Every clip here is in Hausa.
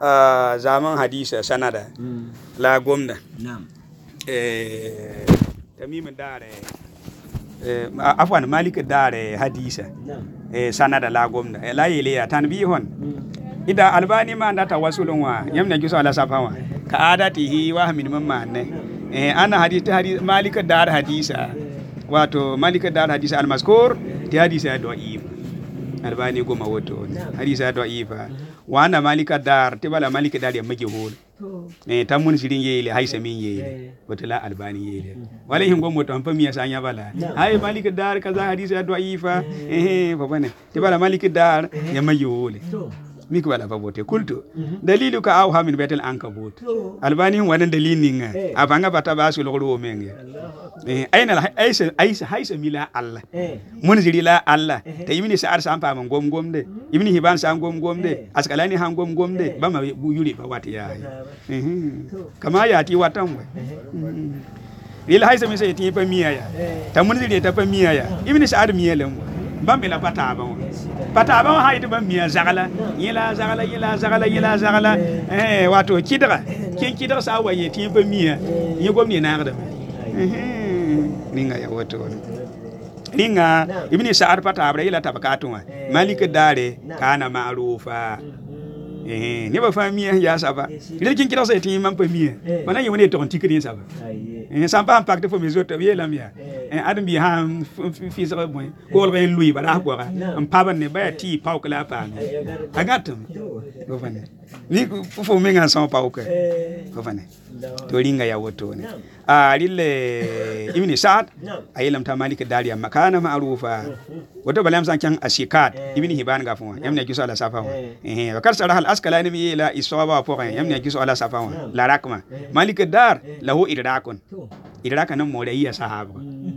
zaman hadisa sanada la gomda tamim dare afwan malik dare hadisa sanada la gomda la yele ya tanbihon ida albani ma ndata wasulun wa yamna giso ala safawa ka adatihi wa min mamane ana hadith malik dar hadisa wato malik dar hadisa almaskur ti hadisa da'if albani goma woto hadisa da'ifa wa ana malik dar ti bala malik dar ya majhul tamun sirin yele haisa min yele wata albani yele wala hin gomo to amfami ya sanya bala hay malik dar kaza hadisa da'ifa fa bane ti bala malik dar ya majhul miki wala babote kultu dalilu ka aw hamin betel ankabut albani wadan dalilin abanga bata basu logoro menge aina aisa haisa mila allah mun ziri la allah ta yimini sa'ar sampa man gom de yimini hiban sam gom de askalani han gom de ba ma yuri ba wati ya kama ya ti watan we ila haisa mi sai ti pa miya ya ta mun ziri ta pa miya ya yimini sa'ar miya lam bambela pataba hayde bambiya zagala yila zagala wato kidra kin kidra sa waye ti bambiya yi gomni na ngada ninga ya wato ninga ibni sa'ar pataba ila tabakatuma malik dare kana ma'rufa ni ba famiya ya saba kin kidra sa ti man pamiya bana yi woni to tikri saba sans pas impacter pour mes autres bien la mia adam bi ha fi sa boy ko ben lui bala ko ga am paban ne ba ti pau kala pa agatum ko fane ni fo me ngan sans pau ko fane to ringa ya woto ne lille ibni sa'ad ayilam ta malik dariya makana ma'rufa wato balam san kan ashikat ibni hiban ga fon yamne giso ala safa wa kar sarah al askalani bi ila isaba fo yamne giso ala safa la rakma malik dar lahu idrakun idraka nan mawdaiya sahaba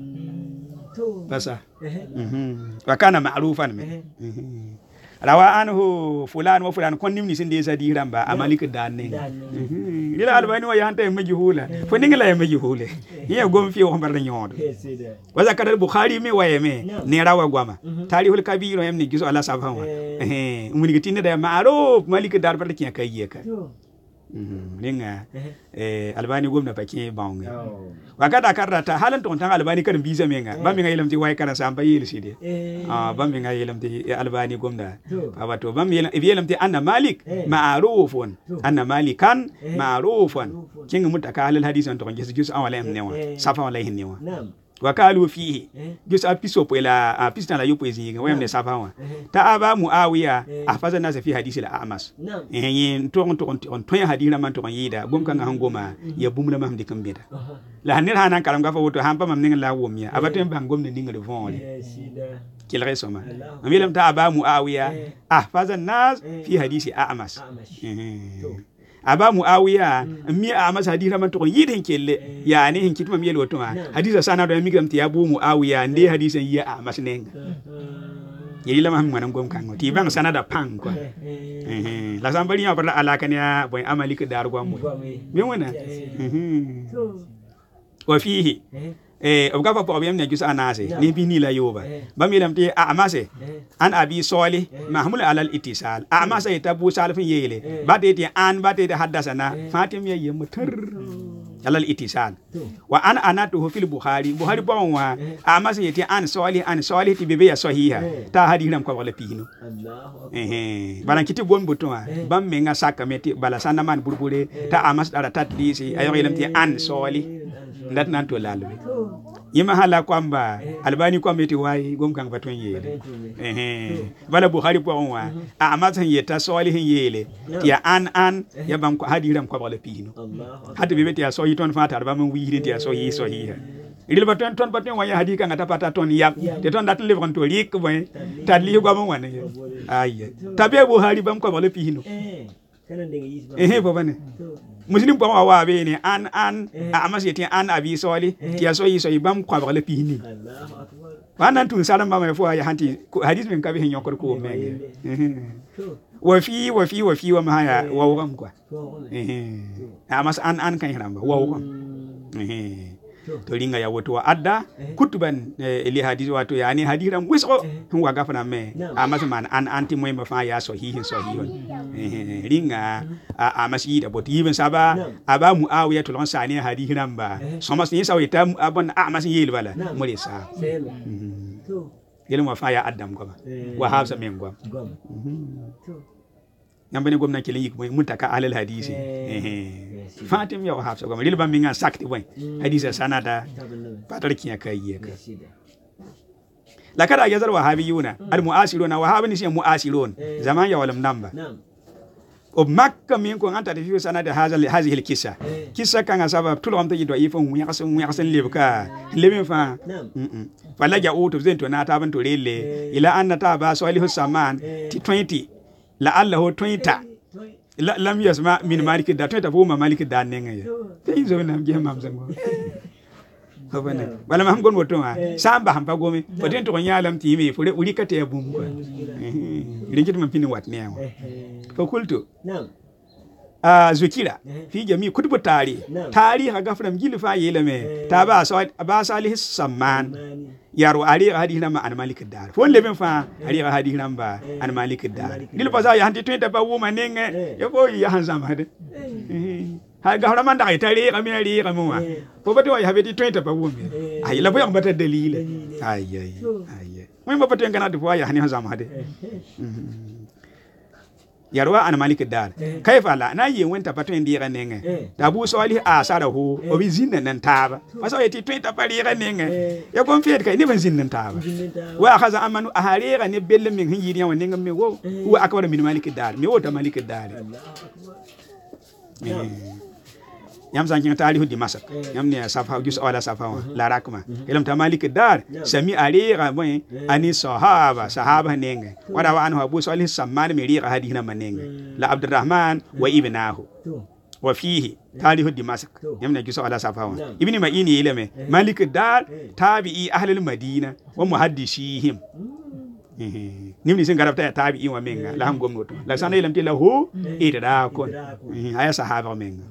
basa wa kana ma'rufan me rawa anhu fulan wa fulan kon nimni sinde sa diramba amalik danne dila albani wa yanta majhula fo ningla majhule ye gom fi o barda nyodo wa zakar bukhari me waye me ne rawa gwama tarihul kabir yamni giso ala safa umuni gitinde da ma'ruf malik dar barda kiya kayye ka ninga albani gomna pake bawnga wakata karata halan to tan albani kan biza menga bammi nga yelamti way kana samba yeli side bammi nga yelamti albani gomna abato bammi yelamti anna malik ma'rufun anna malikan ma'rufun kinga mutaka halal hadisan to jus awala emnewa safa wala hinnewa wakalu fihi jus apiso pela apista la yopo ezinga wemne safawa ta aba muawiya afaza nasa fi hadisi la amas yin to hadira man to yida gom kan hangoma ya bumna mahmdi kambeda la hanir hanan karam gafa woto hampa mam ninga la womia abatem bang gomne ninga de vonle kil resoma amilam ta aba muawiya afaza nas fi hadisi amas aba muawiya mi amas hadira man to yidin kelle yani hin kitma mi yelwoto hadisa sana do mi gamti abu muawiya ndi hadisa ya amas nenga yila ma ngwana ngom kango ti bang sana da pang kwa la sambali ya barla alaka ne boy amalik dar gwa mo mi wona wa fihi ogafa po biyam ne jusa anase ni bi ni la yoba bamilam ti amase an abi solih mahmul alal ittisal amase tabu salfin yele bade ti an bade da haddasana fatim yayi mutar alal ittisal wa an anatu fil bukhari bon wa amase ti an solih ti bebe ya sahiha ta hadiram ko wala pino balan kiti gon buton bam me nga sakameti bala sana man burbure ta amas dara tatlisi ayo yelam ti an solih ndat nan to lalu yima hala kwamba albani kwa meti wai gom kan baton yele bala bukhari po wa amatan yeta solihin yele ya an ya bam ko hadiram ko wala pino hadi bebe ya so yiton fatar ba man wi ya so yi idil baton ton wa ya hadika ngata pata ton yap te ton dat levron to rik boy tadli go am wane ay tabe bukhari bam ko wala pino bobane muslim ko wa be ni an amas yeti an abi soli ti so yi bam ko ba le pini wannan tun salam ba mai fo ya hanti hadis min kabi hin yokor ko me wa fi wa ma ya wa kam kwa amas an kan hiramba wa kam to ringa ya woto adda kutuban li hadith wato yani hadiran wisqo wa gafana me amasman an anti moy ma fa ya sahihin sahihun ringa amasi da bot yibin saba aba muawiya to lon sani hadiran ba somas ni sawita abon amasi yel bala mulisa to yelma fa ya adam goma wa hafsa men goma yambene gomna kele yik moy mutaka alal hadisi fatim ya hafsa goma lilba minga sakti boy hadisa sanada patar kiya kai ka la kada yazal wahabiyuna al muasiruna wahabani shi muasirun zaman ya walam namba ومكة منكم أنت تفيو سنة هذه الكيسة كيسة كان سبب طول عمري يدعو يفهم ويحسن لبكا لمن فا فلا جاءوا تبزين تونا تابن تولي إلى أن تابا سؤاله السمان تي 20 لعله 20 لم يسمع من مالك دا 20 فهو مالك دا نينغ تيزو نام جهم مامزنغو wala ma hamgon woto ma samba hampa gomi foten to nyalam timi fure uri kate bum ko ringit man pini wat newa ko kultu zukira fi jami kutubu tari ha gafram jili fa yelame ta ba salih samman yaro ari hadina ma an malik dar fon leben fa ari hadina ba an malik dar dil pa ya hanti to ba wo manenge yo ko ya hanzam hade ha gahra man da ita ri kamari kamwa ko bati wa habeti 20 pa wumbe ay la boyang bata dalile ay moy ma bati ngana du ya hani hazam hade yarwa an malik dar kayfa la na yi wenta pato ndira nenge da bu soli asara ho obi zinna nan taba maso yeti 20 pa ri nenge ya gon fiet kay ni ban zinna taba wa khaza amanu aharira ne belle min hinjiri ya wonenga me wo wa akbar min malik dar me wota malik dar yam sanki tarihu di masak yam ne safa jus wala safa la rakma ilam ta malik dar sami ariga boy ani sahaba nenge wada wa anhu abu salih samman mi riga hadina manenge la abdurrahman wa ibnahu wa fihi tarihu di masak yam ne jus wala safa ibni ma'ini ilame malik dar tabi'i ahli al-madina wa muhaddisihim nimni sin garabta tabi'i wa menga la ham gomnoto la sana ilam ti lahu idra kon aya sahaba menga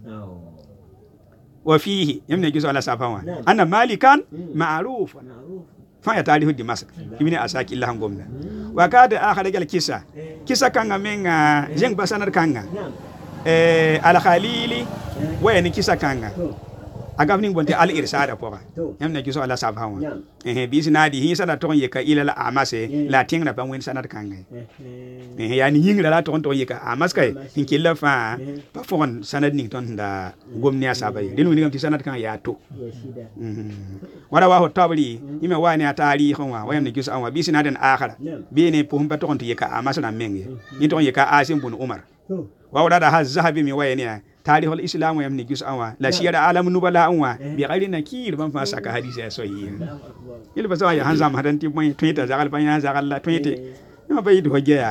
وفيه يمنع جزء على سافوا أنا مالكان معروف فيا تاريخ دمشق يبني أساك الله هم قمنا وكاد آخر رجال كيسا كان من جنگ بسنر كان على خليلي وين كيسا كان agavning bonte al irsada poka yamna juso ala sabhawa bisinadi hi sana ton yeka ila la amase la tingra pa wen sana kanga yani yingra la ton yeka amas kay hinkilla fa pa fon sanad ning ton da gomni asabay dinu ngam ti sanad kan ya to wala wa hotabli ime wani atali khonwa wayamna juso anwa bisinaden akhara bene pum pa ton yeka amas na menge ni ton yeka asim bun umar wa wala da hazabi mi wayni تاريخ الإسلام يمني جزء أوا لا شيء عالم نبلا أوا بغير نكير بام فاسك حديث صحيح يلي بس يا هنزام هذا تيم بين تويتر زعل بين زعل لا تويتر ما بيد هجيا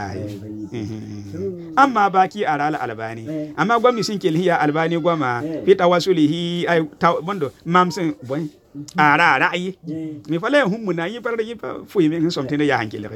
أما باقي على الألباني أما قوم يسنكل هي الألباني قوم في تواصله أي بندو مامسن بوين ara rai mi fale hum na yi par yi fuyi men somtin ya hankele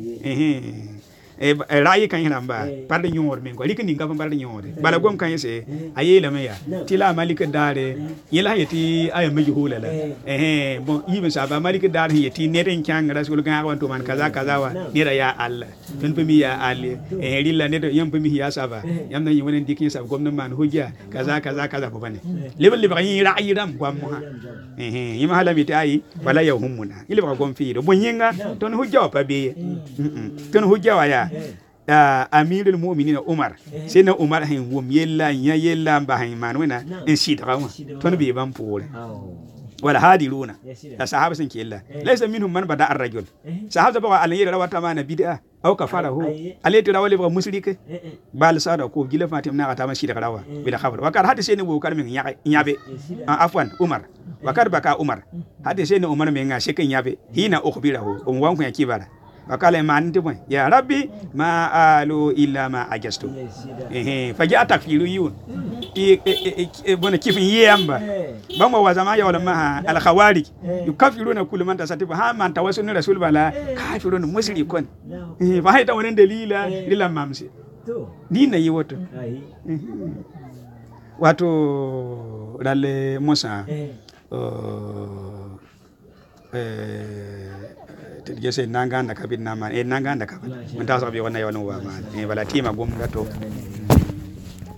rai kan yana ba par de nyor men ko likin ngam par de nyor bala gom kan yese ayela me ya tila malik dare yela yeti ay meji hulala bon yibe sa ba malik dare yeti neten kyang rasul kan awan to man kaza kaza wa nira ya alla tun pemi ya alle rilla ne yam pemi ya saba yam na yi wonen dikin sa gom na man hujja kaza kaza kaza ko bane lebal lebal yi rai ram ko mo yima hala mi tayi wala ya humuna ile ba gom fi do bonyinga ton hujja pa be ton hujja wa ya amirul mu'minin umar sai na umar hin wum yella ya yella ba hin manuna in shi da ton be ban pole wala hadiruna da sahaba sun killa laysa minhum man bada ar-rajul sahaba ba al yira wata mana bid'a aw kafarahu alati rawali ba musrike bal sada ko gila fatim na ta mashi da rawa bi da khabar wakar hadi sai ne bo kar min yabe afwan umar wakar baka umar hadi sai ne umar min nga shekin yabe hina ukhbirahu wan ku yakibara wakala man tibon ya rabbi ma alu illa ma ajastu faji atakfiru yun bona kifin yamba bamba wa zama ya wala ma al khawarij yukafiruna kullu man tasatifa ha man tawassul rasul bala kafirun mushrikun fa hayta wannan dalila lila mamsi dina yi wato lalle musa tidge sai nanga da kabin na man nanga da kabin mun ta sabi wannan yawan wa man bala tima gum da to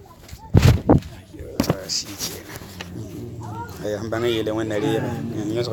shi kenan ai an banga yele wannan riya